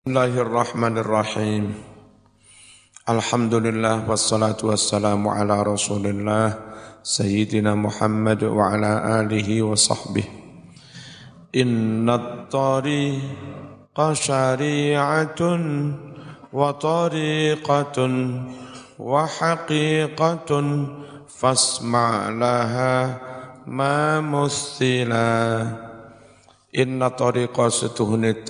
Bismillahirrahmanirrahim. Alhamdulillah wassalatu wassalamu ala Rasulillah Sayyidina Muhammad wa ala alihi wa sahbihi. Inna tariqa syari'atun wa tariqatun wa haqiqatun fasma' laha ma muthila. Inna tariqa setuhune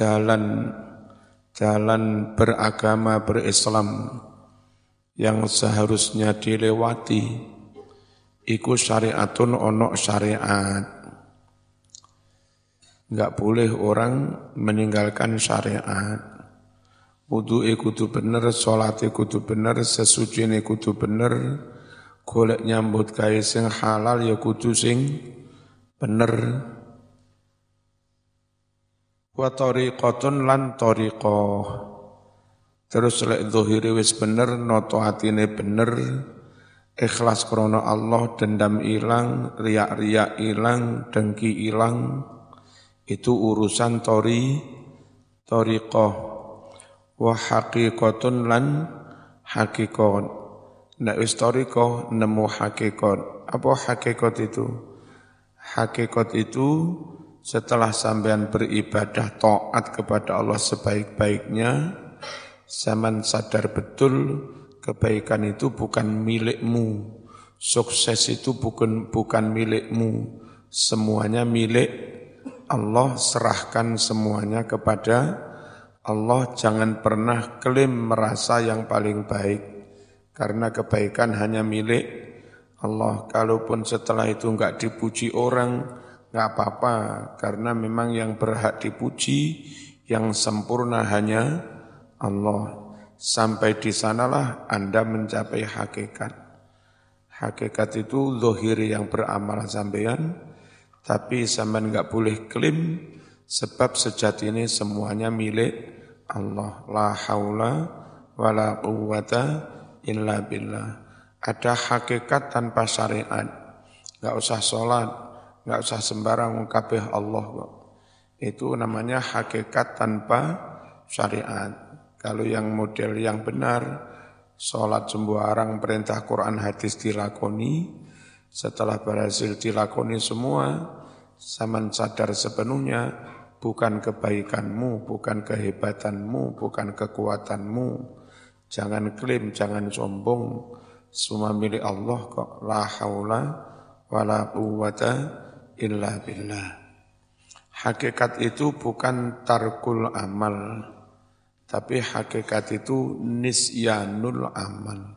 jalan beragama berislam yang seharusnya dilewati iku syariatun ono syariat. Enggak boleh orang meninggalkan syariat. Wudu'e kudu bener, sholate kudu bener, sesucine kudu bener, golek nyambut gawe sing halal ya kudu sing bener. Wa tariqatun lan tariqah. Terus lek zahire wis bener, noto atine bener, ikhlas krana Allah, dendam ilang, riak-riak ilang, dengki ilang, itu urusan tariqah. Wa haqiqatun lan haqiqat. Nek wis tariqah nemu haqiqat. Apa haqiqat itu? Hakikat itu setelah sampean beribadah taat kepada Allah sebaik-baiknya, sampean sadar betul kebaikan itu bukan milikmu, sukses itu bukan milikmu, semuanya milik Allah. Serahkan semuanya kepada Allah, jangan pernah klaim merasa yang paling baik, karena kebaikan hanya milik Allah. Kalaupun setelah itu enggak dipuji orang, enggak apa-apa, karena memang yang berhak dipuji, yang sempurna hanya Allah. Sampai di sanalah Anda mencapai hakikat. Hakikat itu zahiri yang beramal sampean, tapi sampean enggak boleh klaim, sebab sejati ini semuanya milik Allah. La haula wa la quwwata illa billah. Ada hakikat tanpa syariat. Enggak usah sholat, enggak usah sembarang kabeh Allah kok. Itu namanya hakikat tanpa syariat. Kalau yang model yang benar, sholat sembarang, perintah Quran hadis dilakoni, setelah berhasil dilakoni semua, sampean sadar sepenuhnya bukan kebaikanmu, bukan kehebatanmu, bukan kekuatanmu. Jangan klaim, jangan sombong. Semua milik Allah kok. La haula wa la quwwata illa billah. Hakikat itu bukan tarkul amal, tapi hakikat itu nisyanul amal.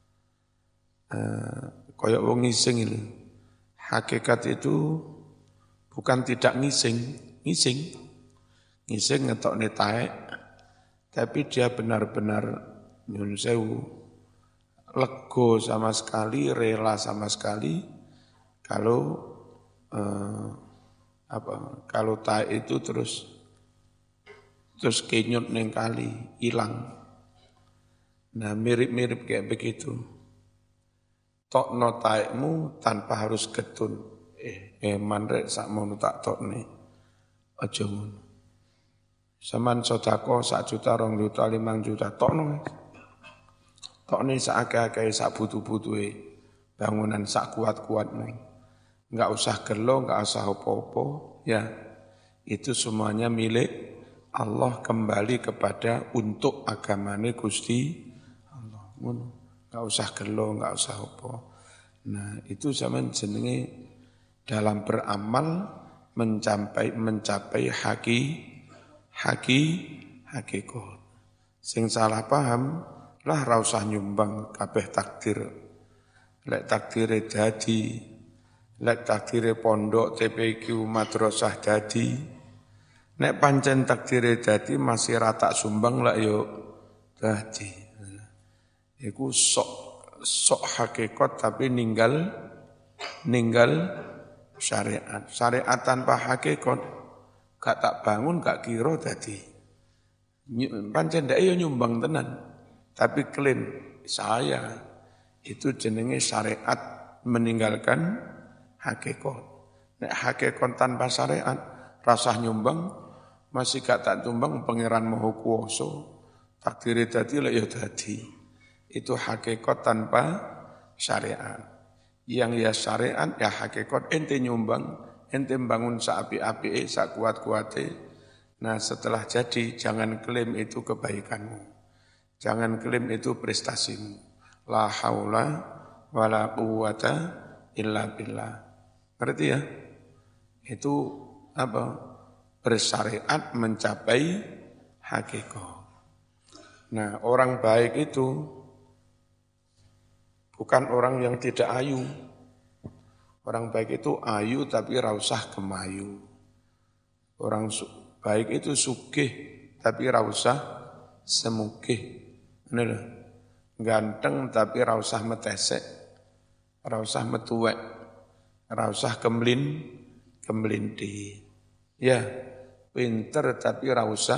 Kayak wong ngising itu. Hakikat itu bukan tidak ngising. Ngising ngetokne taek, tapi dia benar-benar nyun sewu, lego sama sekali, rela sama sekali kalau taek itu terus kenyut neng kali, hilang. Nah, mirip-mirip kayak begitu. Tokno taekmu tanpa harus getun. Mandrek sak mono tak tokne. Aja ngono. Saman sedekah 1 juta, 2 juta, 5 juta tokno. Tokne sak akeh-akeh, sak butuh-butuhe, bangunan sak kuat-kuatne. Enggak usah gelo, enggak usah apa-apa, ya. Itu semuanya milik Allah, kembali kepada untuk agamane Gusti Allah. Ngono. Enggak usah gelo, enggak usah apa. Nah, itu zaman jenenge dalam beramal mencapai hakikat. Sing salah paham lah ra usah nyumbang kabeh takdir. Lek takdire dadi, lek takdire pondok TPQ madrasah dadi, nek pancen takdire dadi masih rata sumbang lah yo dadi. Iku sok hakikat tapi ninggal syariat. Syariat tanpa hakikat gak tak bangun, gak kira dadi. Pancen ndak yo nyumbang tenan. Tapi klaim saya, itu jenenge syariat meninggalkan hakikat. Nek hakikat tanpa syariat, rasah nyumbang, Masih gak tak tumbang pangeran Maha Kuwasa. Takdire dadi lek ya dadi. Itu hakikat tanpa syariat. Yang ya syariat ya hakikat ente nyumbang, ente bangun saapi-api, sakuat-kuate. Nah setelah jadi jangan klaim itu kebaikanmu. Jangan klaim itu prestasimu. La haula wala quwata illa billah. Ngerti ya? Itu apa? Bersyariat mencapai hakikat. Nah, orang baik itu bukan orang yang tidak ayu. Orang baik itu ayu tapi rausah gemayu. Orang baik itu sugih tapi rausah semugih. Ini loh. Ganteng tapi rausah metesek. Rausah metuwek. Rausah kemlinti. Ya, pinter tapi rausah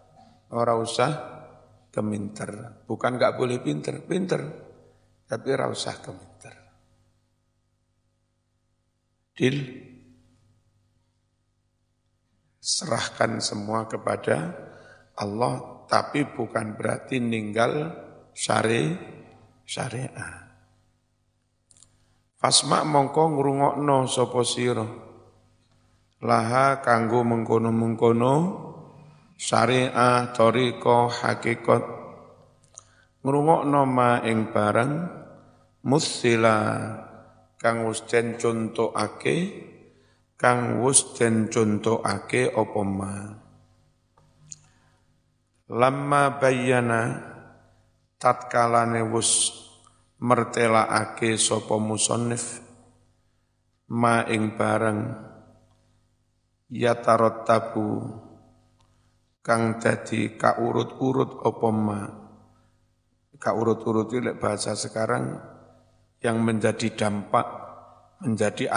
keminter. Bukan enggak boleh pinter, tapi rausah keminter. Deal. Serahkan semua kepada Allah, tapi bukan berarti ninggal syariat. Fasma mongko ngrungokno sapa sira laha kanggo mengkono-mengkono syariah thariqah hakikat ngrungokno ma ing barang musila kang wis den contohake apa ma lamma bayyana tatkalane wis mertelaake sapa musannif ma ing barang yatarattabu kang dadi kaurut-urut apa ma kaurut-urut itu bahasa sekarang yang menjadi dampak menjadi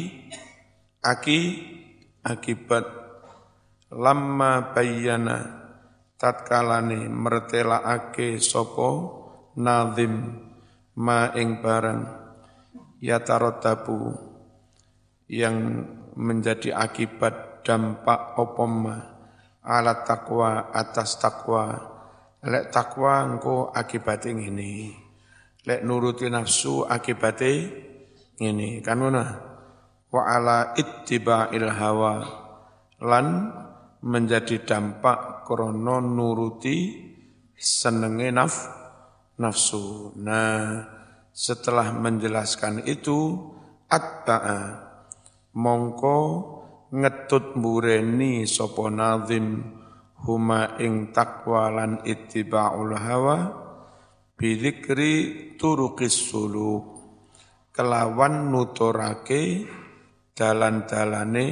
akibat lamma bayyana tatkalane mertelaake sapa nazim ma ing barang yatarattabu yang menjadi akibat dampak opoma ala takwa atas takwa lek takwa engko akibate ngene lek nuruti nafsu akibate ngene kan ngono wa ala ittiba'il hawa lan menjadi dampak krana nuruti senenge nafsu. Nah, setelah menjelaskan itu atba'a mongko ngetut mbureni sapa nazim huma ing taqwa lan ittiba'ul hawa bidzikri turuqis suluk kelawan nuturake dalan-dalane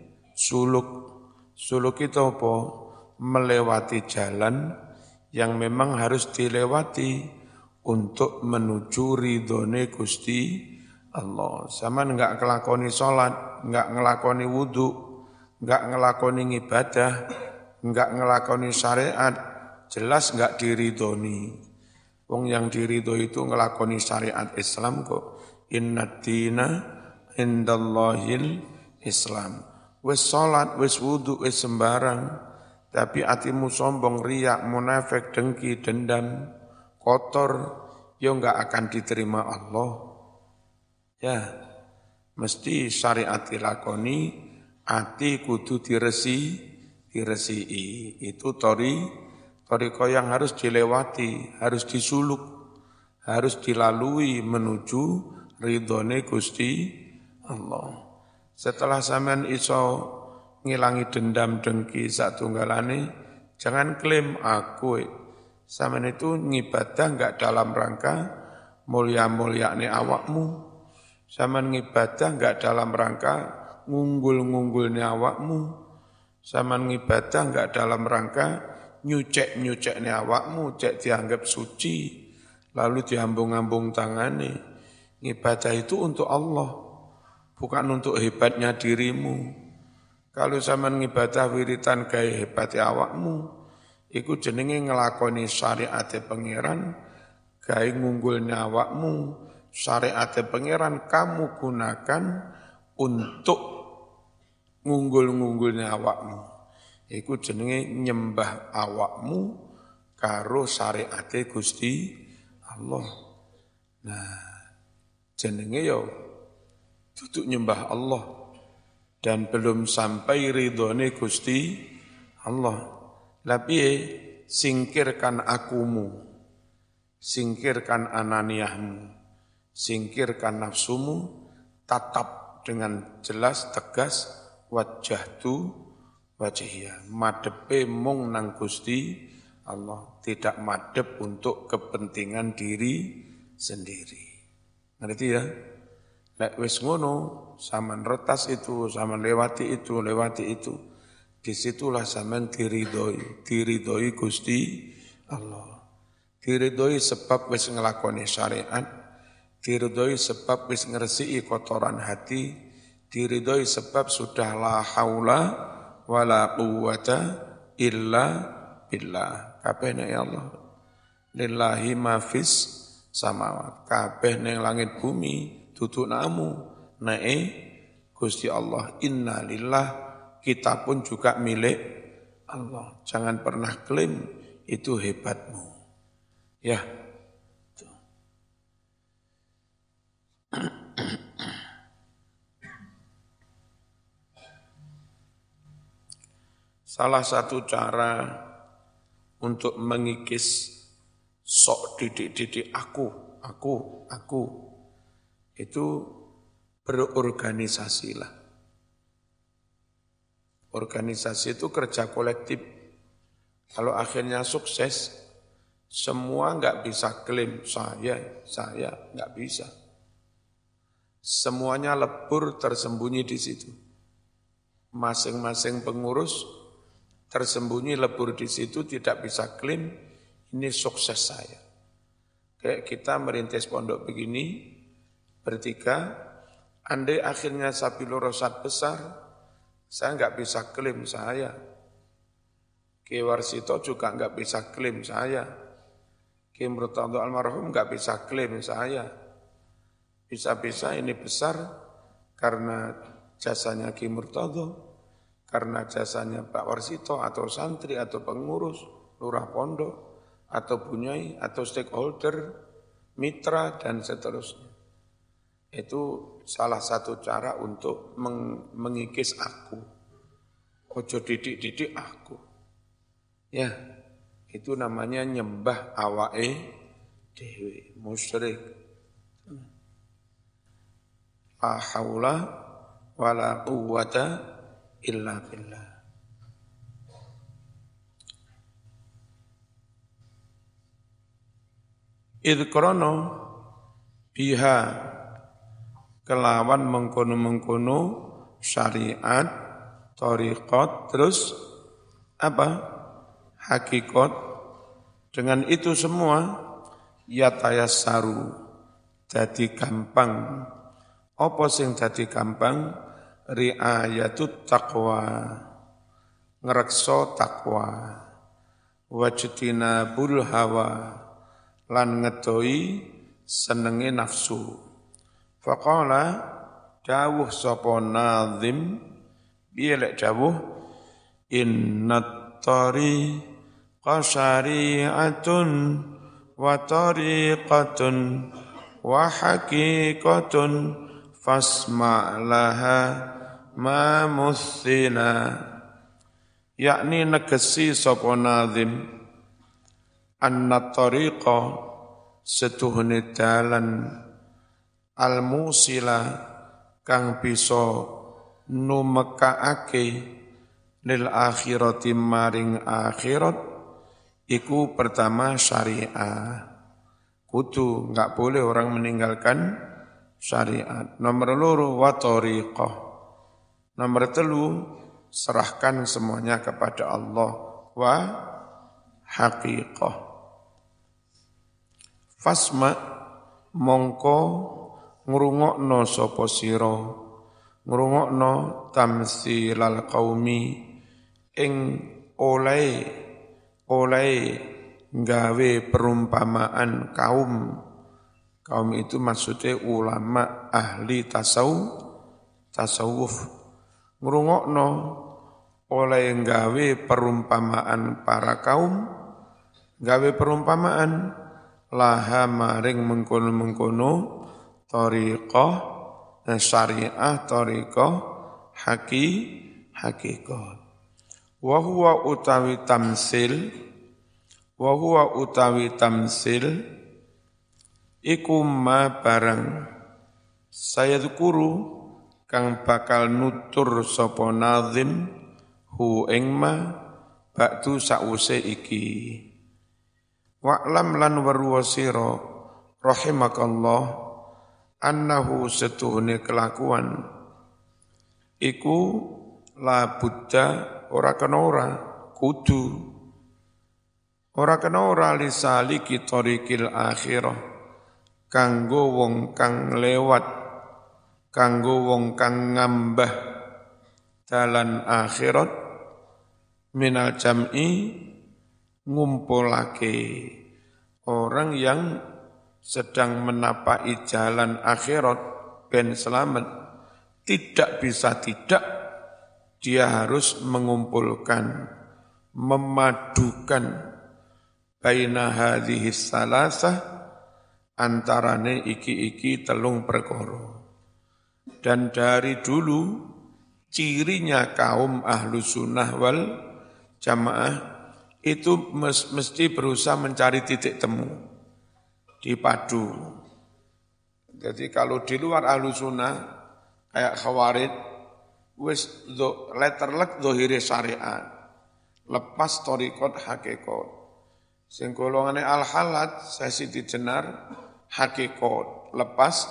suluk itu apa melewati jalan yang memang harus dilewati untuk menuju ridhone Gusti Allah. Sama enggak ngelakoni sholat, enggak ngelakoni wudu, enggak ngelakoni ibadah, enggak ngelakoni syariat, jelas enggak diridhoni. Wong yang diridho itu ngelakoni syariat Islam kok. Inna dina indallahil Islam. Wis sholat, wis wudu, wis sembarang. Tapi hatimu sombong, riak, munafik, dengki, dendam, kotor, ya enggak akan diterima Allah. Ya, mesti syariat dilakoni, hati kudu diresiki. Itu thariqah yang harus dilewati, harus disuluk, harus dilalui menuju ridhone Gusti Allah. Setelah sampean iso ngilangi dendam dengki satunggalane, jangan klaim aku. Sampean itu ngibadah enggak dalam rangka mulia-mulyane awakmu. Sampean ngibadah enggak dalam rangka ngunggul-ngunggulne awakmu. Sampean ngibadah enggak dalam rangka nyucek-nyucekne awakmu, cek dianggap suci, lalu diambung-ambung tangane. Ngibadah itu untuk Allah, bukan untuk hebatnya dirimu. Kalau sampean ngibadah wiritan gaya hebati awakmu, iku jenenge ngelakoni syariate pangeran, gaya ngunggulnya awakmu, syariate pangeran kamu gunakan untuk ngunggul-ngunggulnya awakmu. Iku jenenge nyembah awakmu karo syariate Gusti Allah. Nah, jenenge yo duduk nyembah Allah dan belum sampai ridhone Gusti Allah. Lah piye singkirkan akumu, singkirkan ananiyahmu, singkirkan nafsumu, tatap dengan jelas tegas wajjahtu wajhiyah, madepe mung nang Gusti Allah, tidak madep untuk kepentingan diri sendiri. Ngerti ya? Lek wis ngono, sampean retas itu, sampean lewati itu. Disitulah sampean diridhoi Gusti Allah. Diridhoi sebab wis nglakoni syariat, diridhoi sebab wis ngresiki kotoran hati, diridhoi sebab sudah la haula wala quwwata illa billah. Kabeh nek Allah. Lillahi ma fis samawat. Kabeh ning langit bumi dudu namu nae Gusti Allah. Inna lillah, kita pun juga milik Allah. Jangan pernah klaim itu hebatmu. Ya. Salah satu cara untuk mengikis sok didik-didik aku, itu berorganisasilah. Organisasi itu kerja kolektif. Kalau akhirnya sukses, semua enggak bisa klaim saya enggak bisa. Semuanya lebur tersembunyi di situ. Masing-masing pengurus tersembunyi lebur di situ, tidak bisa klaim ini sukses saya. Kayak kita merintis pondok begini, bertiga, andai akhirnya Sabilur Rasyad besar, saya enggak bisa klaim saya. Ki Warsito juga enggak bisa klaim saya. Ki Murtadho almarhum enggak bisa klaim saya. Bisa-bisa ini besar karena jasanya Ki Murtadho, karena jasanya Pak Warsito atau santri atau pengurus, lurah pondok, atau bunyai, atau stakeholder, mitra, dan seterusnya. Itu salah satu cara untuk mengikis aku. Ojo didik-didik aku. Ya, itu namanya nyembah awake dhewe, musyrik. La haula wala quwwata illa billah. Idkrono biha kelawan mengkono-mengkono syariat, thariqat, terus apa? Hakikat. Dengan itu semua yatayassaru, jadi gampang. Apa sing jadi gampang? Ri'ayatut taqwa, ngrekso takwa, wajtinabul hawa, lan ngedoi senenge nafsu. Faqala dawuh sapa nazim, piye lek dawuh, innat tariqa syari'atun wa tariqatun wa haqiqatun fasma' laha ma muthina. Yakni negesi sapa nazim, anna tariqa setuhune dalan al-musila kang bisa numekaake lil akhirati maring akhirat, iku pertama syariah. Kudu enggak boleh orang meninggalkan syariat. Nomor loro wa tariqah. Nomor telu serahkan semuanya kepada Allah. Wa haqiqah. Fasma mongko ngrungokno sapa sira, ngrungokno tamsilal qaumi ing oleh gawe perumpamaan kaum. Kaum itu maksudnya ulama ahli tasawuf. Ngrungokno oleh gawe perumpamaan para kaum, gawe perumpamaan laha maring mengkono-mengkono thariqah syariah thariqah hakikah. Wa huwa utawi tamsil iku ma barang saya dzukuru kang bakal nutur sapa nazim hu ing ma ba'du sause iki. Wa'lam lan weruwa sira rahimakallah annahu setuhune kelakuan iku la buddha ora kena ora kudu ora kena ora lisaliki thariqil akhirah kanggo wong kang lewat kanggo wong kang ngambah dalan akhirat minal jam'i ngumpulake orang yang sedang menapai jalan akhirat ben selamat tidak bisa tidak dia harus mengumpulkan memadukan baina hadhihi salasah antarane iki telung perkara. Dan dari dulu cirinya kaum ahlu sunnah wal jamaah itu mesti berusaha mencari titik temu, dipadu. Jadi kalau di luar ahlu sunnah, kayak khawarid, wis letterlek dohiri syariat, lepas torikot hakikat. Sing golongane al-halat, sesi dijenar hakikat, lepas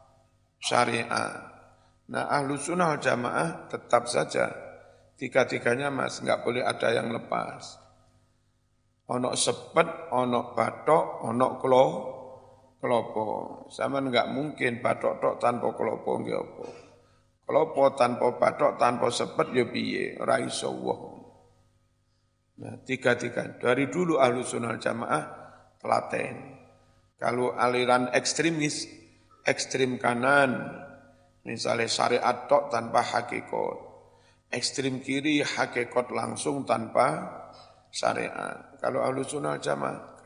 syariat. Nah ahlu sunnah wal jamaah tetap saja, tiga-tiganya mas, enggak boleh ada yang lepas. Ono sepet, ono batok, ono klopo. Sama enggak mungkin batok tok tanpa klopo nggih apa. Klopo tanpa batok, tanpa sepet ya piye, ora iso wong. Nah, tiga-tiga dari dulu ahlu sunnah jamaah telaten. Kalau aliran ekstremis, ekstrim kanan, misalnya syariat tok tanpa hakikat. Ekstrim kiri hakikat langsung tanpa syariat. Kalau ahlu sunnah jamaah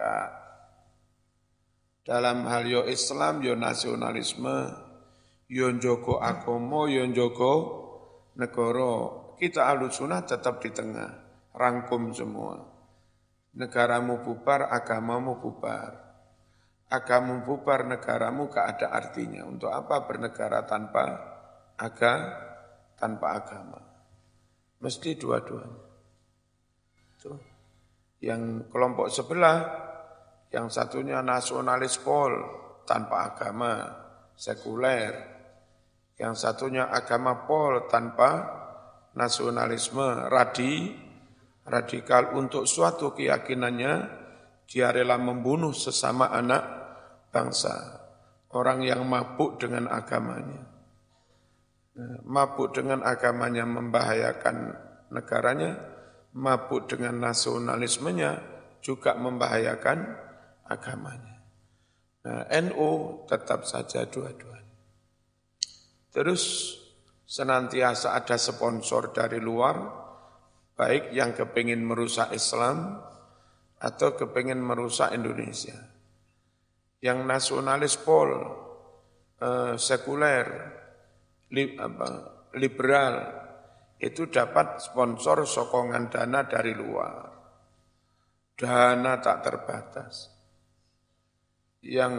dalam hal yo Islam, yo nasionalisme, yo njogo agama, yo njogo negara, kita ahlu sunnah tetap di tengah, rangkum semua. Negaramu bubar, agamamu bubar. Agamamu bubar, negaramu gak ada artinya. Untuk apa bernegara tanpa agama? Mesti dua-duanya. Tuh. Yang kelompok sebelah, yang satunya nasionalis pol, tanpa agama, sekuler. Yang satunya agama pol, tanpa nasionalisme, radikal. Untuk suatu keyakinannya, dia rela membunuh sesama anak bangsa. Orang yang mabuk dengan agamanya. Mabuk dengan agamanya membahayakan negaranya, mabuk dengan nasionalismenya juga membahayakan agamanya. Nah, NU tetap saja dua-duanya. Terus senantiasa ada sponsor dari luar, baik yang kepingin merusak Islam atau kepingin merusak Indonesia. Yang nasionalis pol, sekuler, liberal, itu dapat sponsor sokongan dana dari luar. Dana tak terbatas. Yang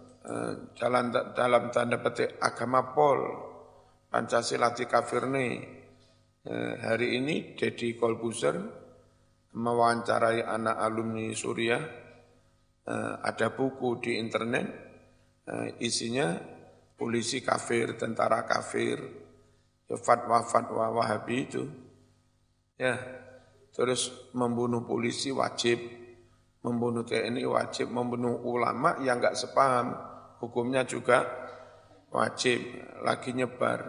dalam tanda petik agama pol, Pancasila dikafirne. Hari ini Deddy Corbuzier mewawancarai anak alumni Suriah, ada buku di internet, isinya polisi kafir, tentara kafir, fatwa-fatwa Wahabi itu, ya, terus membunuh polisi wajib, membunuh TNI wajib, membunuh ulama yang enggak sepaham, hukumnya juga wajib, lagi nyebar.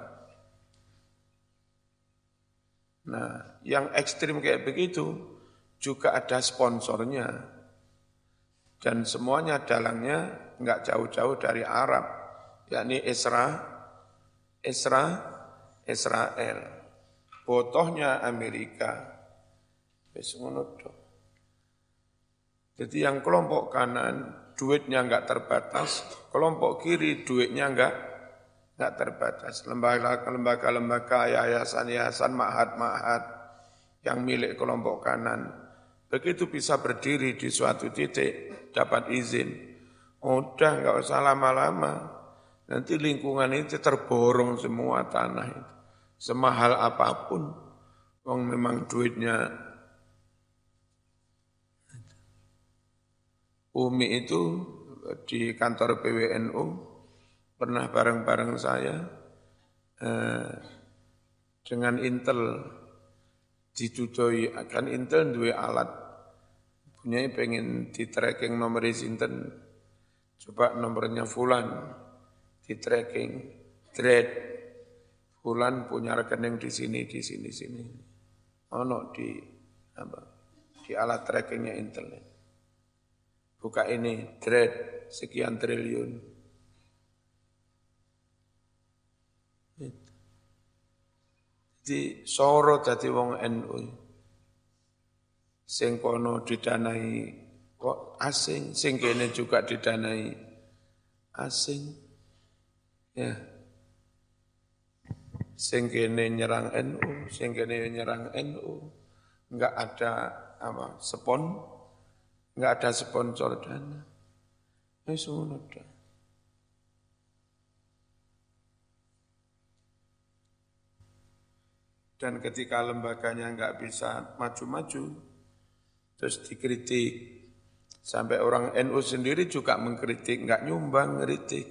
Nah, yang ekstrim kayak begitu juga ada sponsornya, dan semuanya dalangnya enggak jauh-jauh dari Arab, yakni Israel. botohnya Amerika. Wis ngono tok. Jadi yang kelompok kanan duitnya enggak terbatas, kelompok kiri duitnya enggak terbatas. Lembaga-lembaga, yayasan-yayasan, ma'had-ma'had yang milik kelompok kanan. Begitu bisa berdiri di suatu titik, dapat izin. Udah enggak usah lama-lama. Nanti lingkungan itu terborong semua tanah itu. Semahal apapun. Wong memang duitnya. Umi itu di kantor PWNU pernah bareng-bareng saya dengan Intel ditudoi akan Intel duwe alat punya pengen di tracking nomor sinten coba nomornya Fulan di tracking thread Fulan punya rekening di sini ono di alat trackingnya Intel. Buka ini, thread, sekian triliun. Jadi sorot dadi wong NU. Sing kono didanai kok asing, sing kene juga didanai asing. Ya. Sing kene nyerang NU, sing kene nyerang NU. Enggak ada enggak ada sponsor dana. Wis ngono tok. Dan ketika lembaganya enggak bisa maju-maju, terus dikritik. Sampai orang NU sendiri juga mengkritik, enggak nyumbang, ngeritik.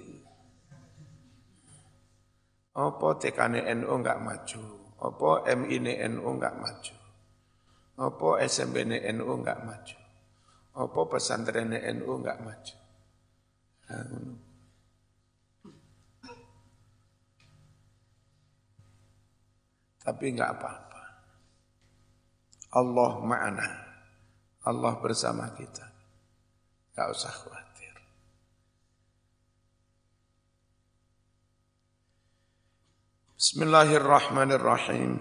Apa TKN NU enggak maju? Apa MI NU enggak maju? Apa SMP NU enggak maju? Apa pesantren NU enggak maju? Tapi enggak apa-apa. Allah ma'ana. Allah bersama kita. Enggak usah khawatir. Bismillahirrahmanirrahim.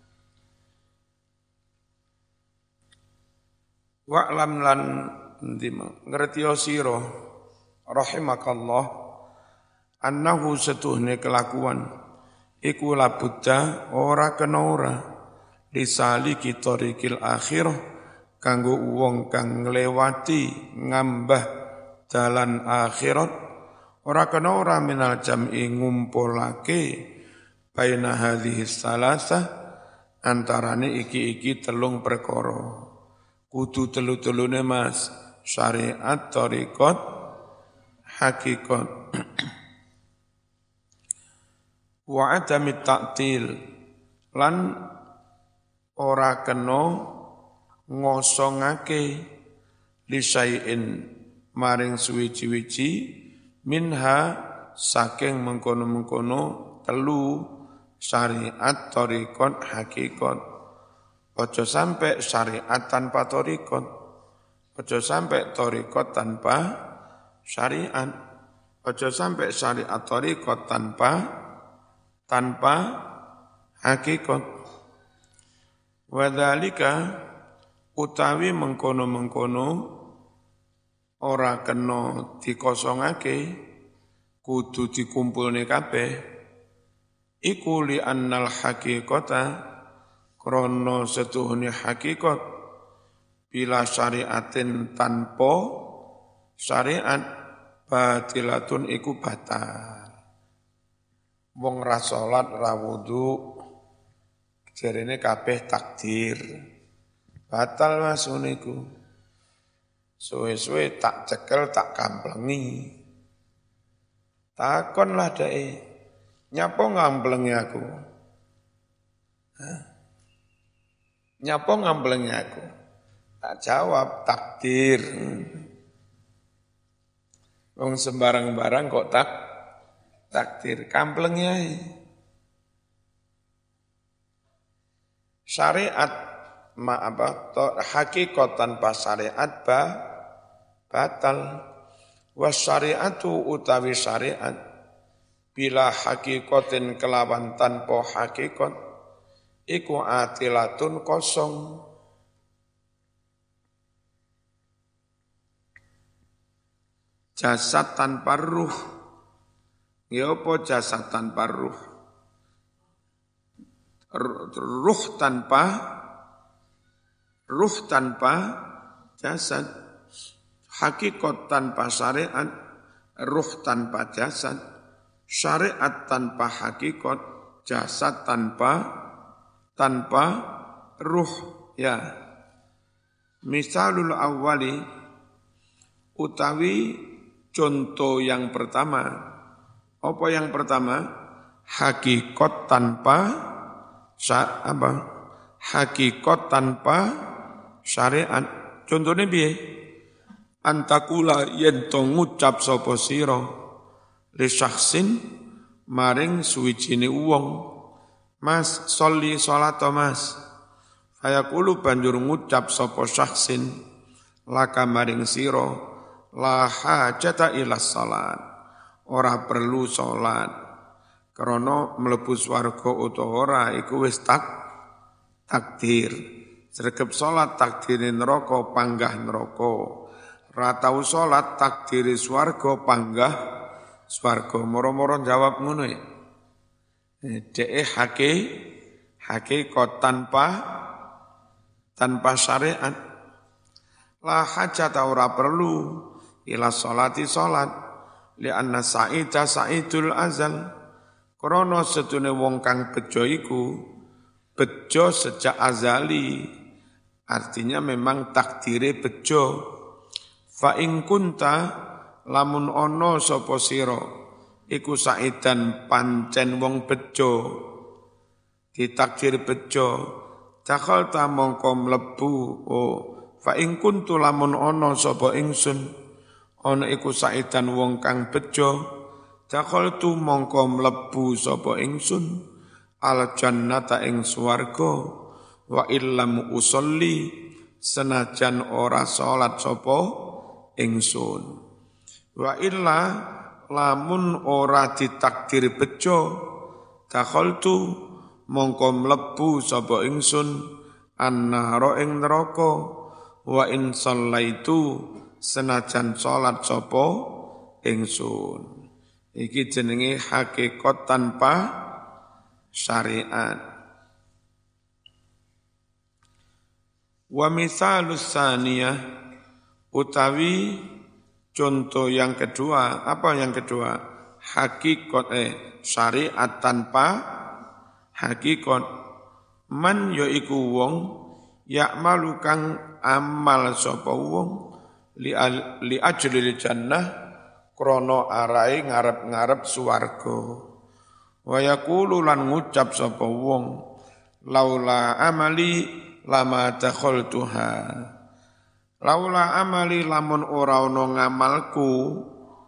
Wa'lam lan ngertiyo sira rahimakallah annahu setuhne kelakuan iku labudda ora kena ora disaliki tariqil akhirah kanggo wong kang nglewati ngambah dalan akhirat ora kena ora minal jam'i ngumpulake baina hadhihi salasah antarane iki telung perkara. Kudu telu-telune mas, syariat, thariqat, hakikat. Wa adamit ta'til, lan ora kena ngosongake lisai'in maring suwiji-wiji minha saking mengkono-mengkono telu syariat, thariqat, hakikat. Ojo sampai syariat tanpa thariqat, ojo sampai thariqat tanpa syariat, ojo sampai syariat thariqat tanpa hakikat. Wadzalika utawi mengkono-mengkono ora kena dikosongake, kudu dikumpulne kabeh. Iku li annal haqiqata krono setuhuni hakikat bila syariatin tanpa syariat batilatun iku batal. Wong ra salat ra wudu jarene kabeh takdir. Batal mas niku. Suwe-suwe tak cekel tak kamplengi. Takonlah dae. Nyapa ngamplengi aku? Hah? Nyapa ngamplengi aku? Tak jawab, takdir. Wong sembarang-barang kok takdir. Kamplengi ae. Syariat hakikat tanpa syariat batal. Wasyariatu utawi syariat bila hakikatin kelawan tanpa hakikat iku atilatun kosong. Jasad tanpa ruh. Ya apa jasad tanpa ruh? Ruh tanpa jasad. Hakikat tanpa syariat, ruh tanpa jasad, syariat tanpa hakikat, jasad tanpa ruh. Ya. Misalul awwali utawi contoh yang pertama. Apa yang pertama? Hakikat tanpa hakikat tanpa syariat. Contohnya piye? Antakula yen to ngucap sapa sira li syakhsin maring suwijine wong, Mas sholli sholata Mas. Fayaqulu banjur ngucap sapa syakhsin laka maring sira la hajata ila salat. Ora perlu salat. Krana mlebu swarga utawa ora iku wis takdir. Sregep salat takdire neraka panggah neraka. Ra tau salat takdire swarga panggah swarga. Moro-moro jawab ngono ya. Deke hakikat tanpa syariat. La hajat ora perlu ila sholati salat li'anna sa'ida sa'idul azal. Krana sedune wong kang bejo iku bejo sejak azali. Artinya memang takdire bejo. Fa ing kunta lamun ana sapa sira iku saidan pancen wong bejo ditakdir bejo dakhalta mongko mlebu fa ing kuntu lamun ana sapa ingsun ana iku saidan wong kang bejo dakhaltu mongko mlebu sapa ingsun al jannata ing swarga wa illam usolli senajan ora salat sapa ingsun. Wa illa lamun ora ditakdir bejo dakhaltu mongko mlebu sapa ingsun annara ing neraka wa in shallaitu senajan salat sapa ingsun. Iki jenenge hakikat tanpa syariat. Wa misalus saniyah utawi contoh yang kedua, apa yang kedua? Hakikat syariat tanpa hakikat. Man yaiku wong ya'malu kang amal sapa wong li ajlil jannah krana arahe ngarep-ngarep swarga. Wa yaqulu lan ngucap sapa wong laula amali lama dakhaltuha. Laula amali lamun ora ana ngamalku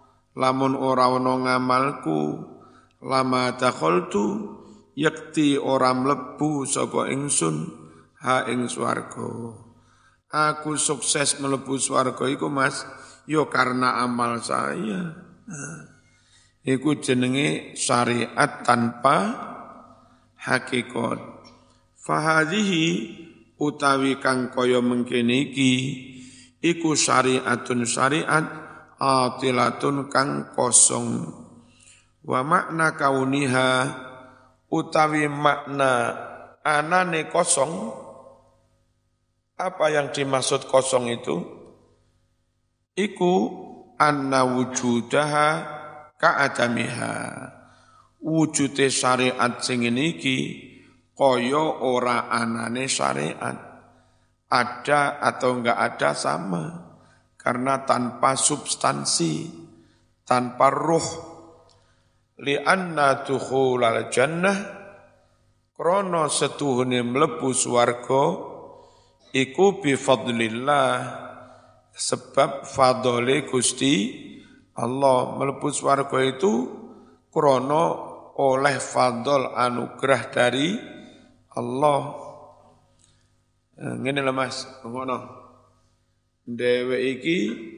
lama dakhaltu yakti ora mlebu sapa ingsun ha ing swarga. Aku sukses mlebu swarga iku Mas yo karena amal saya. Iku jenenge syariat tanpa hakikat. Fahadhihi utawi kang kaya mengkene iki iku syariatun syariat atilatun kang kosong. Wa makna kauniha utawi makna anane kosong. Apa yang dimaksud kosong itu? Iku anna wujudaha ka'adamiha. Wujude syariat sing iki kaya ora anane syariat. Ada atau enggak ada sama. Karena tanpa substansi, tanpa ruh. Li'anna dukhulal jannah, krana setuhune mlebu swarga, iku bifadlillah, sebab fadole Gusti Allah. Mlebu swarga itu krana oleh fadl anugerah dari Allah. Ngene lho Mas, ngono. Dhewe iki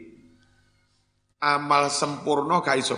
amal sempurna gak iso.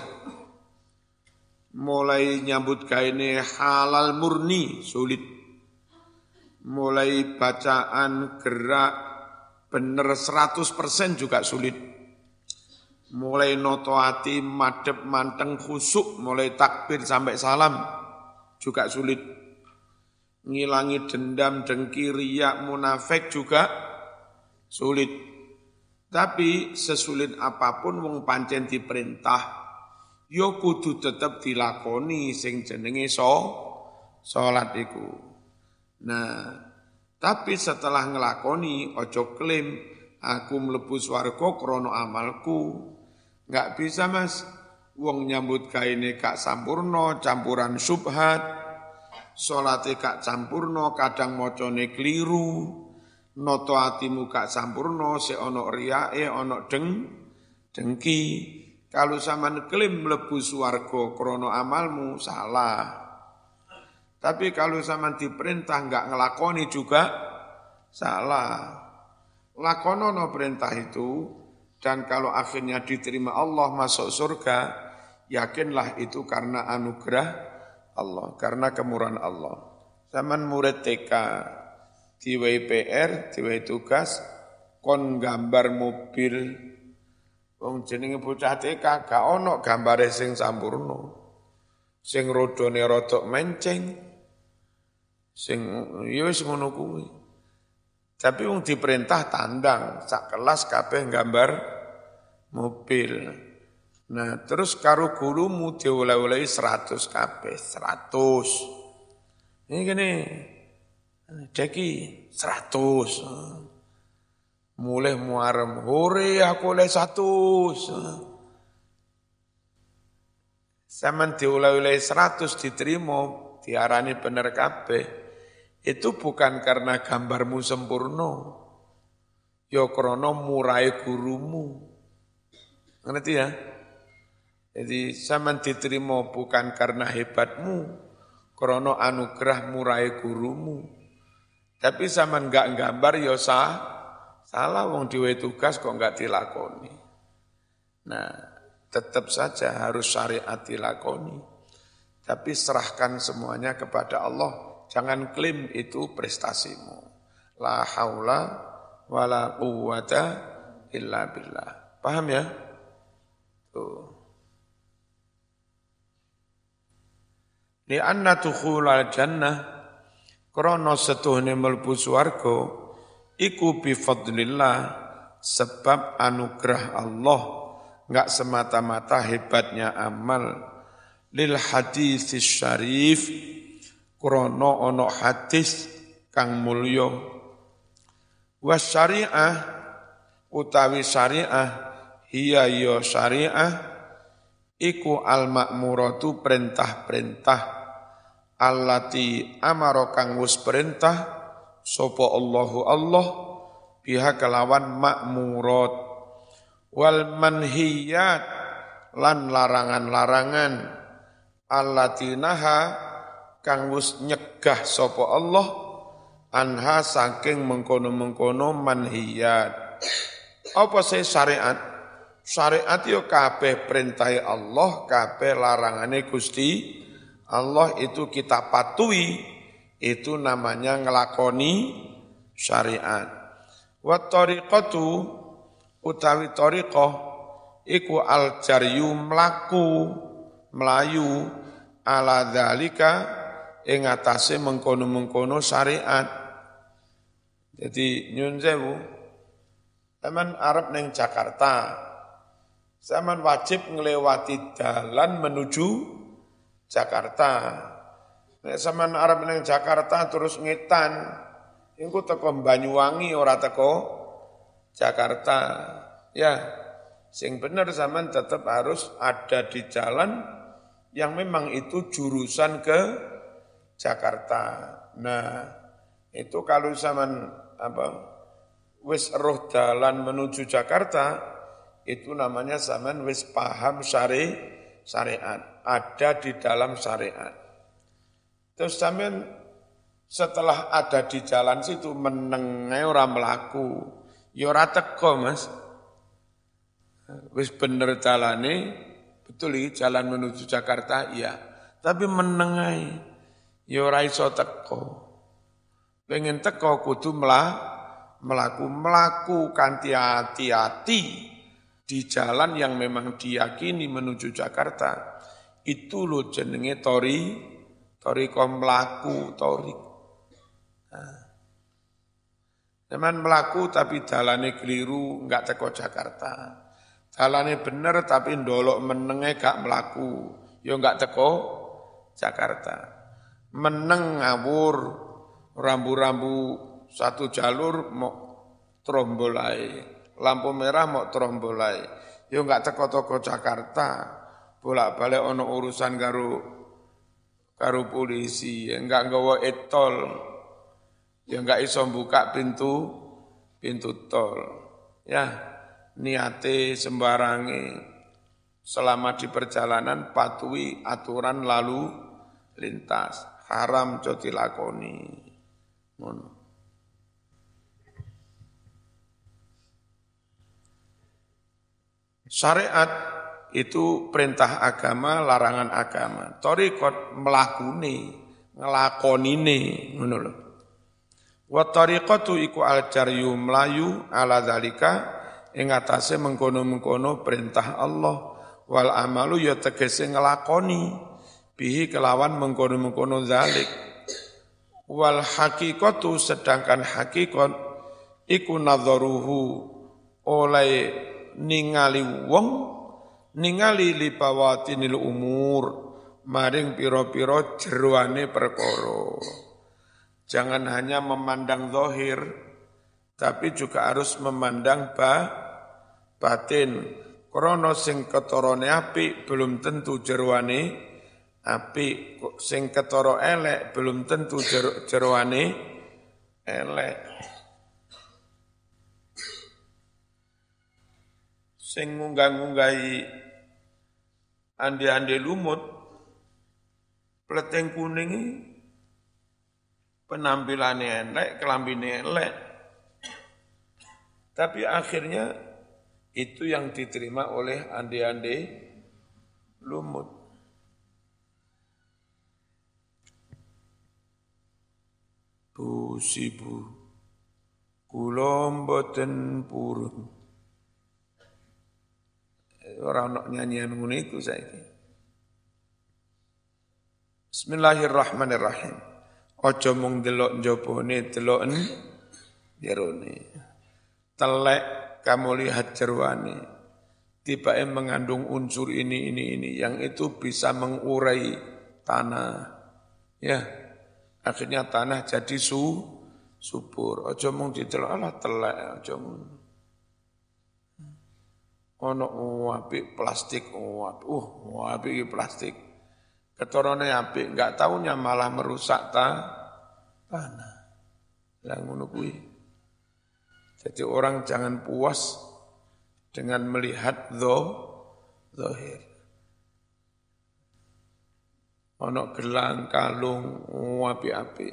Mulai nyambut gaene halal murni sulit. mulai bacaan, gerak, bener 100% juga sulit. Mulai noto hati, madep, manteng, khusuk, mulai takbir sampai salam juga sulit. Ngilangi dendam, dengki, riak, munafik juga sulit. Tapi sesulit apapun wong pancen diperintah, yo kudu tetep dilakoni sing jenenge salat iku. Nah, tapi setelah ngelakoni ojo klaim aku mlebu swarga krana amalku. Enggak bisa Mas. Wong nyambut gaene gak sampurna, campuran subhat. Salate gak sampurna, kadang macane kliru. Noto atimu gak sampurna, sik ana riyae, ana dengki. Kalau sampean klaim mlebu swarga krana amalmu salah. Tapi kalau sampean diperintah enggak ngelakoni juga salah. Lakonono perintah itu dan kalau akhirnya diterima Allah masuk surga, yakinlah itu karena anugerah Allah, karena kemurahan Allah. Sampean murid TK diwai PR, diwai tugas kon gambar mobil. Wong jenenge bocah TK gak ono gambare sing sampurna. Sing rodone rodok menceng. Sing ya wis ngono kuwi. Tapi wong diperintah tandang, sak kelas kabeh gambar mobil. Nah, terus karo gurumu dioleh-olehi 100 kabeh, 100. Ini gini, Deki 100. Mulai muarem, hore aku oleh 100. Zaman dioleh-olehi 100 diterima, diarani bener kabeh. Itu bukan karena gambarmu sempurna, ya krana murai gurumu. Ngerti ya? Jadi sampean diterima bukan karena hebatmu, krana anugerah murai gurumu. Tapi sampean enggak gambar ya salah wong dhewe tugas kok enggak dilakoni. Nah, tetap saja harus syariat dilakoni. Tapi serahkan semuanya kepada Allah. Jangan klaim itu prestasimu. La haula wa la quwwata illa billah. Paham ya? Tuh. Li'anna dukhulal jannah krana setuhne mlebu swarga iku bi fadlillah sebab anugerah Allah, enggak semata-mata hebatnya amal. Lil haditsis syarif krana ana hadis kang mulya. Was syariah utawi syariah hiya ya syariah iku al ma'muratu perintah-perintah allati amara kang wis perintah sapa Allahu Allah biha kelawan ma'murat wal manhiyat lan larangan-larangan allati naha kang wis nyegah sapa Allah anha saking mengkono-mengkono manhiyat. Apa sih syariat? Syariat yo kabeh perintahe Allah, kabeh larangane Gusti Allah itu kita patuhi, itu namanya ngelakoni syariat. Wa tariqatu utawi tariqah iku al jaryu mlayu ala dzalika ing atase mengkono-mengkono syariat. Jadi nyun sewu, zaman Arab ning Jakarta, zaman wajib ngelewati dalan menuju Jakarta. Nek zaman Arab ning Jakarta terus ngetan, engko teko Banyuwangi ora teko Jakarta. Ya, sing bener zaman tetap harus ada di jalan yang memang itu jurusan ke Jakarta. Nah, itu kalau zaman wis roh dalan menuju Jakarta, itu namanya zaman wis paham syariat, ada di dalam syariat. Terus zaman setelah ada di jalan situ menengai orang melaku, ya ora teko Mas. Wis bener jalane, betul iki jalan menuju Jakarta, iya. Tapi menengai ya ora iso teko. Pengen teko kudu melaku kanthi hati-hati di jalan yang memang diyakini menuju Jakarta. Itu lo jenenge toriko melaku torik. Zaman melaku tapi dalane keliru enggak teko Jakarta. Dalane bener tapi ndolok menenge gak melaku. Ya enggak teko Jakarta. Meneng ngawur rambu-rambu satu jalur mau trombolai. Lampu merah mau trombolai. Ya enggak teko Jakarta. Bolak-balik ono urusan karo polisi, enggak nggawa etol. Ya enggak iso buka pintu tol. Ya, niate sembarange selama di perjalanan patuhi aturan lalu lintas. Haram jo dilakoni. Ngono. Syariat itu perintah agama, larangan agama. Thariqat melakuni, ngelakonine, ngono lho. Wa thariqatu iku al-jaryu mlayu ala zalika ing atase mengkono-mengkono perintah Allah wal amalu ya tegese ngelakoni bihi kelawan mengkono-mengkono zalik. Wal haqiqatu sedangkan hakikat iku nadharuhu oleh ningali wong ningali libawatinil umur maring piro-piro jeroane perkara. Jangan hanya memandang zahir, tapi juga harus memandang batin. Krana sing ketorone apik belum tentu jeroane apik, sing ketara elek belum tentu jeroane elek. Sing ngunggah-ngunggahi ande-ande lumut, pleteng kuning penampilannya elek, kelambine elek. Tapi akhirnya itu yang diterima oleh ande-ande lumut. Bu sibu, kula mboten purun. Ora ono nyanyian ngono iku saiki. Bismillahirrahmanirrahim. Aja mung delok njabane, deloken jerone. Telek kamu lihat jeroane. Tibake mengandung unsur ini yang itu bisa mengurai tanah. Ya. Akhirnya tanah jadi subur. Aja mung didelok ala telek aja mung. Ono apik plastik, apik plastik. Ketorone apik, enggak taunya malah merusak tanah. Lah ngono kuwi. Jadi orang jangan puas dengan melihat zahir. Ono gelang, kalung, apik-apik.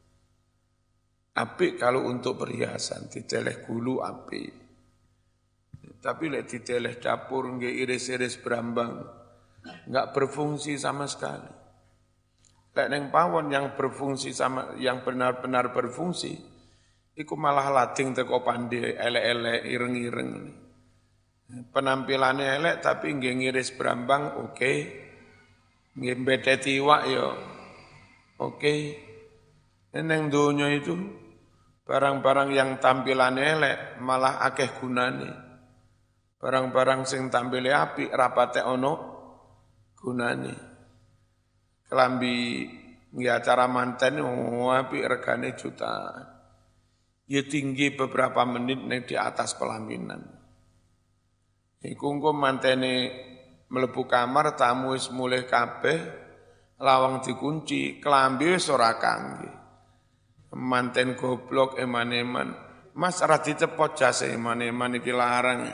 Apik kalau untuk perhiasan, diteleh gulu apik. Tapi lek diteleh dapur nggih iris-iris berambang, enggak berfungsi sama sekali. Lek ning pawon yang berfungsi sama yang benar-benar berfungsi, iku malah lading teko pandhe elek-elek ireng-ireng. Penampilannya elek tapi nggih ngiris berambang oke. Nggih mbedeti iwak ya oke. Neng donya itu barang-barang yang tampilannya elek malah akeh gunane. Barang-barang sing tampile apik rapate ono gunane. Kelambi nggih acara manten apik regane jutaan. Ya tinggi beberapa menit ning di atas pelaminan. Iku engko mantene mlebu kamar tamu wis mulih kabeh, lawang dikunci, kelambi wis ora kangge. Manten goblok eman-eman. Mas ora dicepot jase eman-eman iki larang.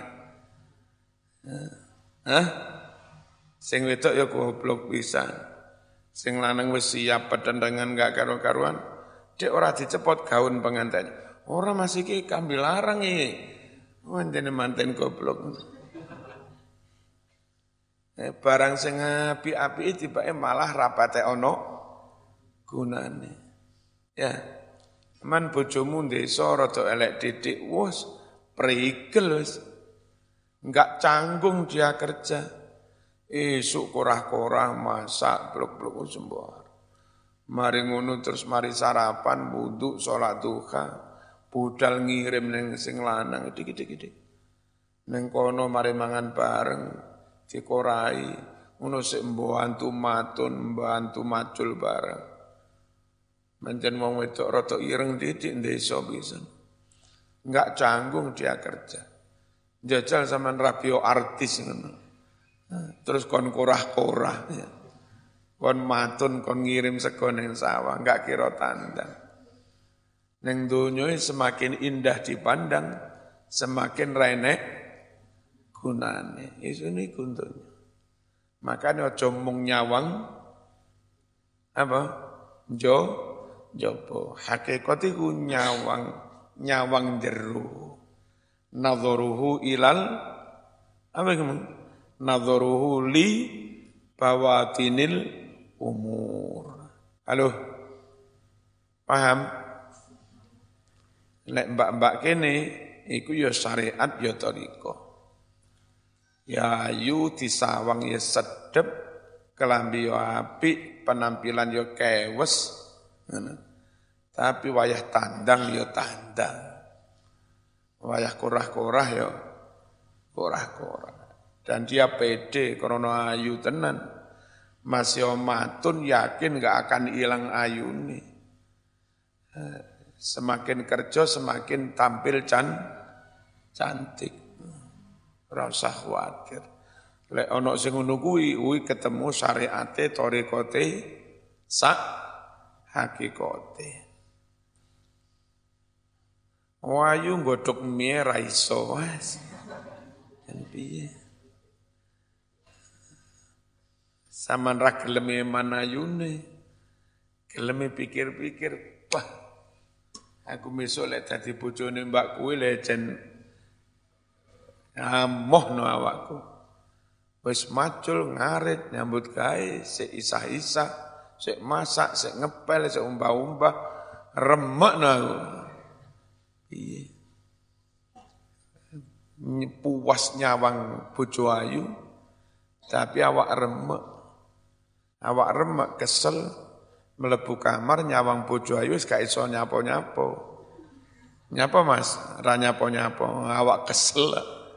Hah? Sing wedok ya goblok pisan. Sing lanang wis siap pedendengan gak karo-karuan. Dek ora dicepot gaun pengantin. Ora masih iki kambil larang iki. Wandene manten goblok. Barang sing apik-apik tibake malah rapate ono gunane. Ya. Man bojomu desa rada elek didik, wis prigel wis. Enggak canggung dia kerja. Esuk korah-korah masak blok-blok sembar. Mari ngono terus mari sarapan, wudu, salat duha, budal ngirim ning sing lanang dik-dik. Ning kono mari mangan bareng dikorai, ngono sik mbantu matun, mbantu macul bareng. Pancen wong wedok rada ireng didik desa pisan. Enggak canggung dia kerja. Jajal sampean radio artis ngono. Terus kon korah-korah ya. Kon matun, kon ngirim sego ning sawah, enggak kira tandang. Ning donya semakin indah dipandang, semakin renek gunane. Iso niku donya. Makane aja mung nyawang apa? Jopo. Hakikat iku nyawang jero. Nadharuhu ilal apa iku? Nadharuhu li bawatinil umur. Halo, paham? Lek mbak-mbak kene, iku ya syariat ya thariqah. Ya ayu disawang ya sedep, kelambi ya apik, penampilan ya kewes. Tapi wayah tandang ya tandang. Wayah korah-korah ya korah-korah. Dan dia pede karena ayu tenan. Masih matun yakin gak akan hilang ayune. Semakin kerja semakin tampil cantik. Ora usah khawatir. Lek ana sing ngono kuwi ketemu syariate thariqate sak hakikate. Wayu nggodhok mie ra iso wis. Yen piye? Saman ra gelem manayune. Gelem pikir-pikir, wah. Aku besok lek dadi bojone mbak kuwi lecen amohno awakku. Wis macul ngarit nyambut gawe sik isah-isah, sik masak, sik ngepel, sik umbah-umbah, remekno aku. Piye? Puas nyawang bojo ayu, tapi awak remek. Awak remek kesel mlebu kamar nyawang bojo ayu wis gak iso nyapo-nyapo. Nyapa Mas? Ra nyapo-nyapo, awak kesel.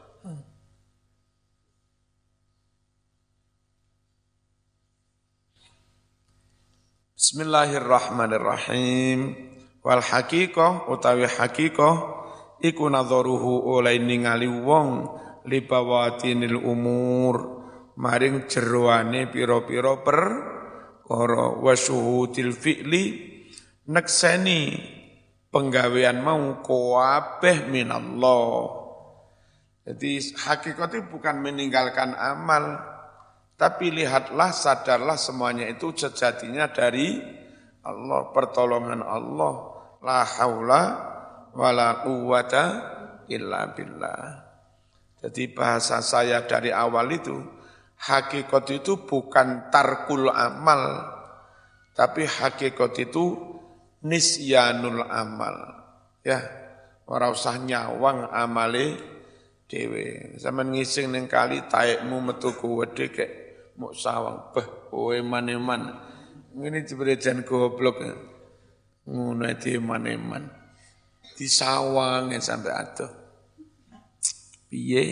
Bismillahirrahmanirrahim. Wal haqiqah utawi haqiqah iku nadharuhu oleh ningali wong li bawatinil umur maring jeroane pira-pira perkara wa syuhudil fi'li nekseni penggawean mau kabeh minallah. Jadi hakikat itu bukan meninggalkan amal, tapi lihatlah, sadarlah semuanya itu sejatinya dari Allah, pertolongan Allah. La haula wala quwwata illa billah. Jadi bahasa saya dari awal itu, hakikat itu bukan tarkul amal, tapi hakikat itu nisyanul amal. Ya, ora usah nyawang amale dhewe. Sampeyan ngising ning kali taekmu metu kuwedhe kek mok sawang beh kowe maneman. Ngene jebrejan goblok. Ngono iki maneman. Disawang sampai adoh. Piye?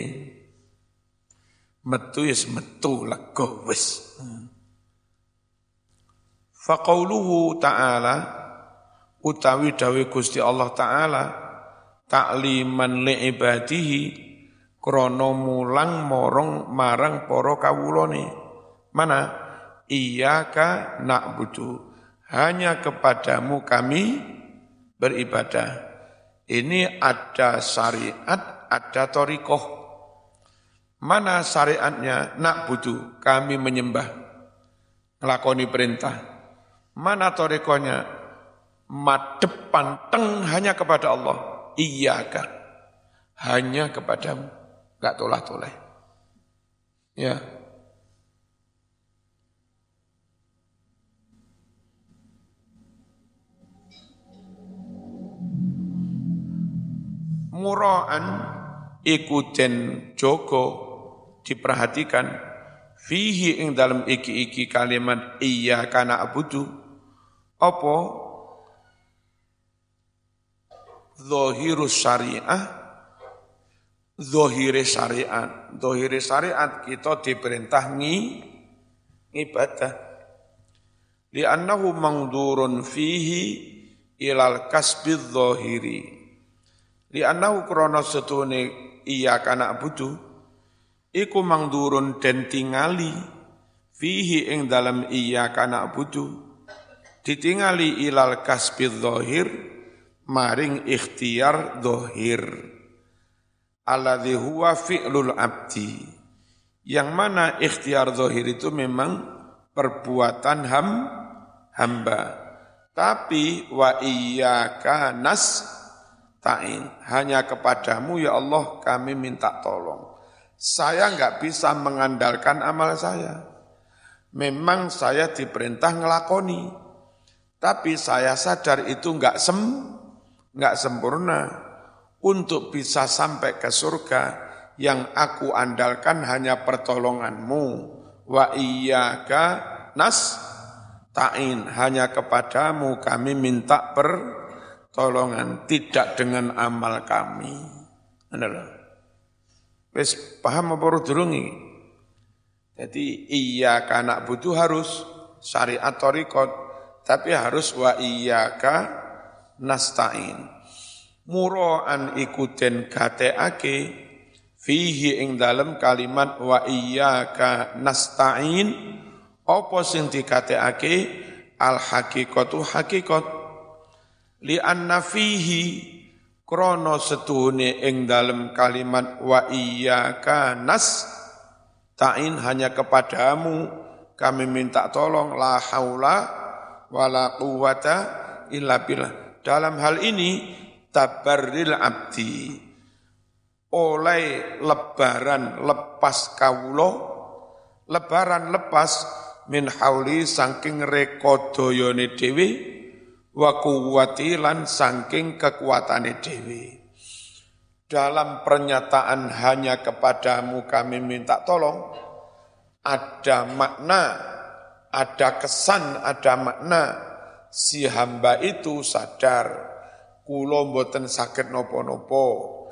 Metu ya metu lega wis. Fa qauluhu ta'ala utawi dawuh Gusti Allah taala ta'liman li ibadihi krana mulang marang para kawulane. Mana? Iyyaka na'budu. Hanya kepadamu kami beribadah. Ini ada syariat, ada thariqah. Mana syariatnya? Na'budu, kami menyembah, ngelakoni perintah. Mana thariqahnya? Madhep panteng hanya kepada Allah. Iyyaka, hanya kepadamu, enggak tolah-toleh. Ya. muraan iku den jaga diperhatikan fihi ing dalam iki kalimat iyyaka na'budu apa zahirus syariah zahire syariat kita diperintah ibadah li'annahu mangdurun fihi ilal kasbiz zahiri li'annahu krana setune iyyaka na'budu iku mangdurun den tingali fihi ing dalam iyyaka na'budu ditingali ilal kasbiz zahir maring ikhtiar zahir alladzi huwa fi'lul abdi yang mana ikhtiar zahir itu memang perbuatan hamba tapi wa iyyaka nasta'in hanya kepadamu ya Allah kami minta tolong. Saya enggak bisa mengandalkan amal saya. Memang saya diperintah ngelakoni. Tapi saya sadar itu enggak sempurna. Untuk bisa sampai ke surga, yang aku andalkan hanya pertolonganmu. Wa iyyaka nasta'in, hanya kepadamu kami minta pertolongan, tidak dengan amal kami. Adalah. Wis paham apa durung iki? Jadi iyyaka na'budu harus syariat thariqat, tapi harus wa iyyaka nasta'in. Mura'an ikutin gateake fihi ing dalem kalimat wa iyyaka nasta'in apa sing digateake al haqiqatu haqiqat li anna fihi krono setuhune ing dalem kalimat wa iyyaka nasta'in hanya kepadamu kami minta tolong la haula wala quwata illa billah. Dalam hal ini tabarril abdi oleh lebaran lepas kawula lebaran lepas min hauli saking rekodayane dhewe wa quwwati lan saking kekuatane dhewe. Dalam pernyataan hanya kepadamu kami minta tolong, ada makna, ada kesan, ada makna si hamba itu sadar kula mboten saged napa-napa,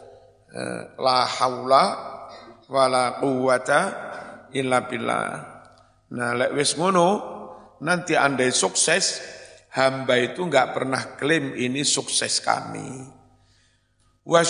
la haula wala quwata illa billah. Nah lek wis ngono nanti andai sukses, hamba itu enggak pernah klaim ini sukses kami. Wa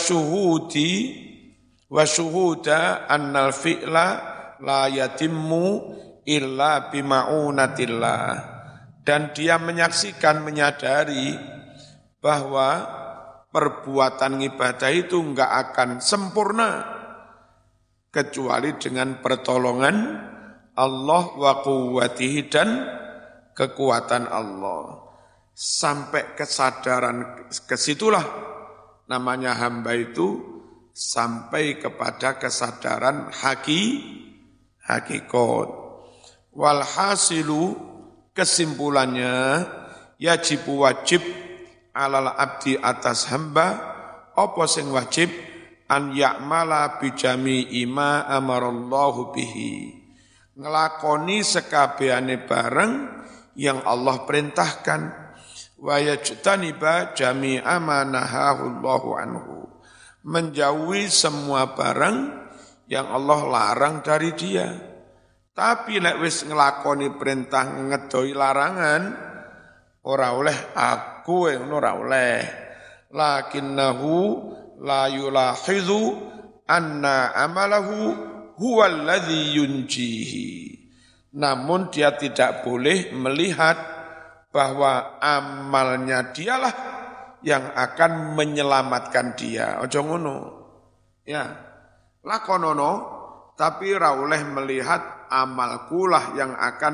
syuhuda annal fi'la la yatimmu illa bima'unatillah. Dan dia menyaksikan, menyadari bahwa perbuatan ibadah itu enggak akan sempurna kecuali dengan pertolongan Allah wa quwwatihi dan kekuatan Allah. Sampai kesadaran kesitulah namanya hamba itu sampai kepada kesadaran hakikat. Walhasilu kesimpulannya wajib alal abdi atas hamba apa sing wajib an ya'mala bijami ima amarallahu bihi ngelakoni sekabehane bareng yang Allah perintahkan wa yajtaniba jami'a ma nahahullahu anhu menjauhi semua barang yang Allah larang dari dia. Tapi lek wis ngelakoni perintah ngedoi larangan ora oleh aku ora oleh. Lakinnahu la yulahizu anna amalahu huwa alladhi yunjihi. Namun dia tidak boleh melihat bahwa amalnya dialah yang akan menyelamatkan dia. Ojo ngono. Ya. Lakonono tapi ora oleh melihat amalkulah yang akan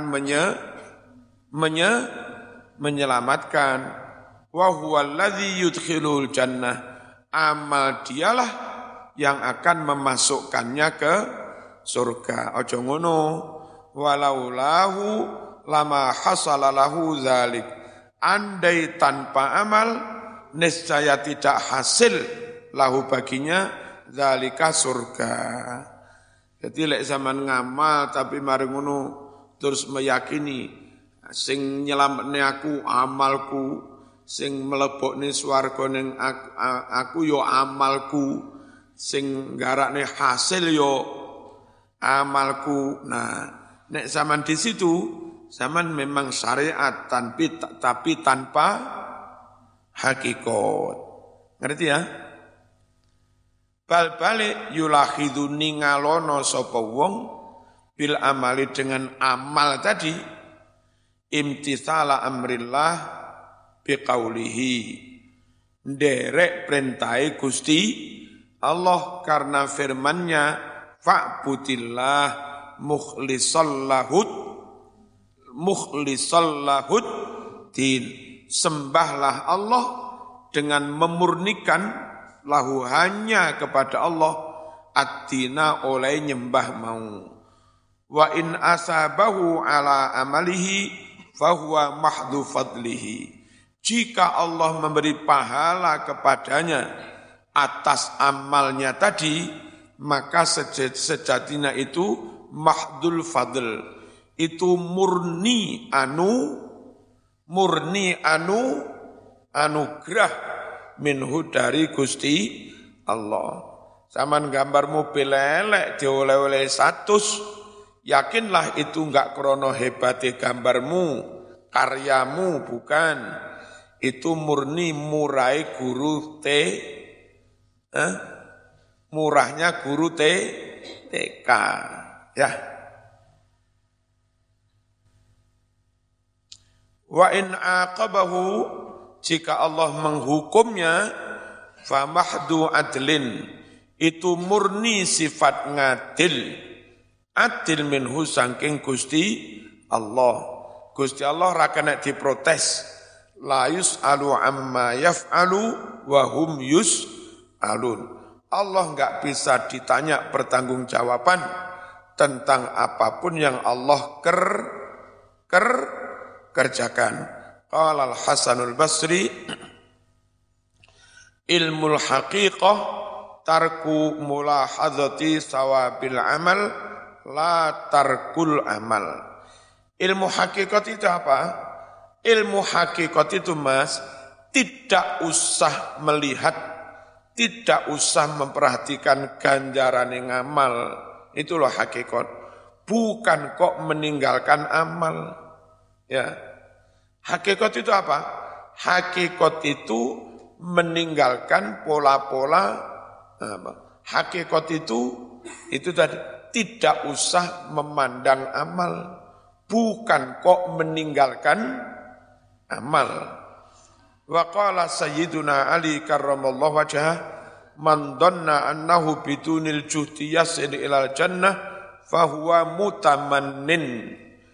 menyelamatkan. Wa huwa alladhi yudkhilul jannah. Amal dialah yang akan memasukkannya ke surga. Ojo ngono. Walaulahu lama hasala lahu zalik. Andai tanpa amal niscaya tidak hasil lahu baginya zalika surga. Jadi lek zaman ngamal tapi mari ngono terus meyakini sing nyelametne aku amalku, sing mlebokne swarga ning aku yo amalku, sing nggarakne hasil yo amalku. Nah, nek zaman di situ zaman memang syariat tapi tanpa hakikat. Ngerti ya? Bal balik yulakhidhu ningalono sapa wong bil amali dengan amal tadi imtithala amrillah biqaulihi nderek perintahe Gusti Allah karena firman-Nya fa'budillah mukhlisallahud din, sembahlah Allah dengan memurnikan lahu hanya kepada Allah ad-dina oleh nyembah mau. Wa in asabahu ala amalihi fahuwa mahdhu fadlihi. Jika Allah memberi pahala kepadanya atas amalnya tadi, maka sejatinya itu mahdul fadl. Itu murni anugerah minhu dari Gusti Allah. Zaman gambar mobil elek dioleh-oleh 100, yakinlah itu enggak krono hebate gambarmu, karyamu, bukan. Itu murni murai guru murahnya guru TK. Ya. Wa in aqabahu, jika Allah menghukumnya, famahdu adlin, itu murni sifat ngadil, adil minhu sangking Gusti Allah. Gusti Allah ra kena diprotes, la yus'alu amma yaf'alu wa hum yus'alun. Allah enggak bisa ditanya pertanggungjawaban tentang apapun yang Allah kerjakan. Qala al-Hasanul Basri, ilmul haqiqah tarku mulahadzati sawabil amal la tarkul amal. Ilmu hakikat itu apa? Ilmu hakikat itu Mas, tidak usah melihat, tidak usah memperhatikan ganjaran yang amal. Itulah hakikat. Bukan kok meninggalkan amal. Ya. Hakikat itu apa? Hakikat itu meninggalkan pola-pola apa? Hakikat itu tadi tidak usah memandang amal, bukan kok meninggalkan amal. Wa qala sayyiduna Ali karramallahu wajhah, man dhanna annahu bidunil juhdi yasil ilal jannah fahuwa mutamannin.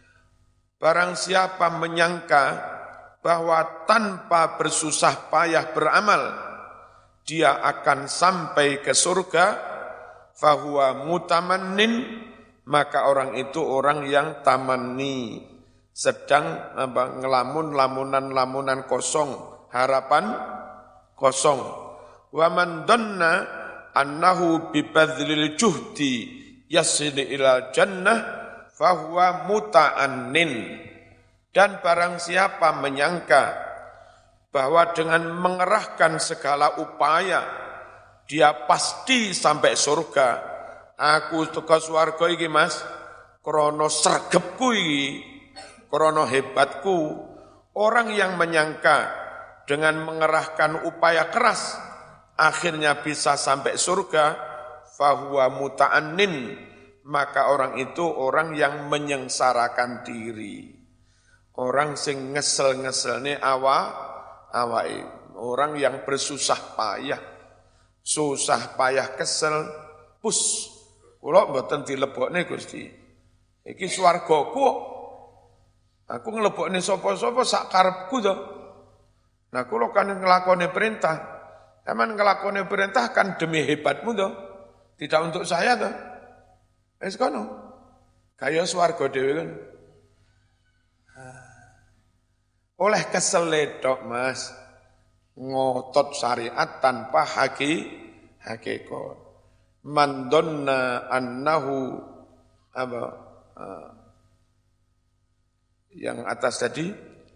Barang siapa menyangka bahwa tanpa bersusah payah beramal, dia akan sampai ke surga, fahuwa mutamannin, maka orang itu orang yang tamanni, sedang ngelamun-lamunan kosong, harapan kosong. Wa man dhanna annahu bibadlil juhdi yasil ilal jannah fahuwa muta'annin. Dan barang siapa menyangka bahwa dengan mengerahkan segala upaya dia pasti sampai surga. Aku teko swarga iki Mas, krana sregepku iki, krana hebatku. Orang yang menyangka dengan mengerahkan upaya keras akhirnya bisa sampai surga, fahuwa muta'annin, maka orang itu orang yang menyengsarakan diri. Orang sing ngesel-ngeselne awake, orang yang bersusah payah, kesel, kula mboten dilebokne Gusti. Iki swargaku. Aku nglebokne sapa-sapa sak karepku to. Nah kula kan nglakoni perintah. Taman nglakoni perintah kan demi hebatmu to. Tidak untuk saya to. Wis kono. Kaya swarga dhewe kan. Oleh kesel tok Mas, ngotot syariat tanpa hakikat. Man dhanna annahu apa yang atas tadi,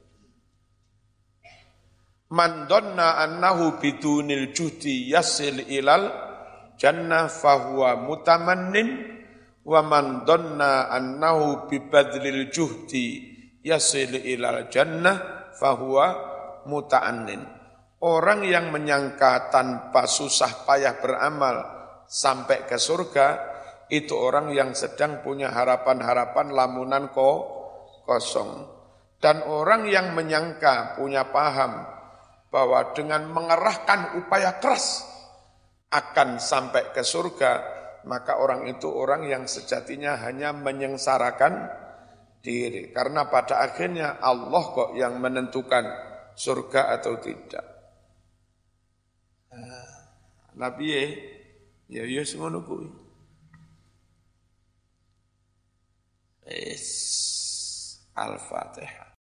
man dhanna annahu bidunil juhdi yasil ilal jannah fahuwa mutamannin wa man dhanna annahu bibadlil juhdi yasil ilal jannah fahuwa muta'annin. Orang yang menyangka tanpa susah payah beramal sampai ke surga, itu orang yang sedang punya harapan-harapan lamunan kosong. Dan orang yang menyangka punya paham bahwa dengan mengerahkan upaya keras akan sampai ke surga, maka orang itu orang yang sejatinya hanya menyengsarakan diri. Karena pada akhirnya Allah kok yang menentukan surga atau tidak. Nabi ya ngono kuwi. Al-Fatihah.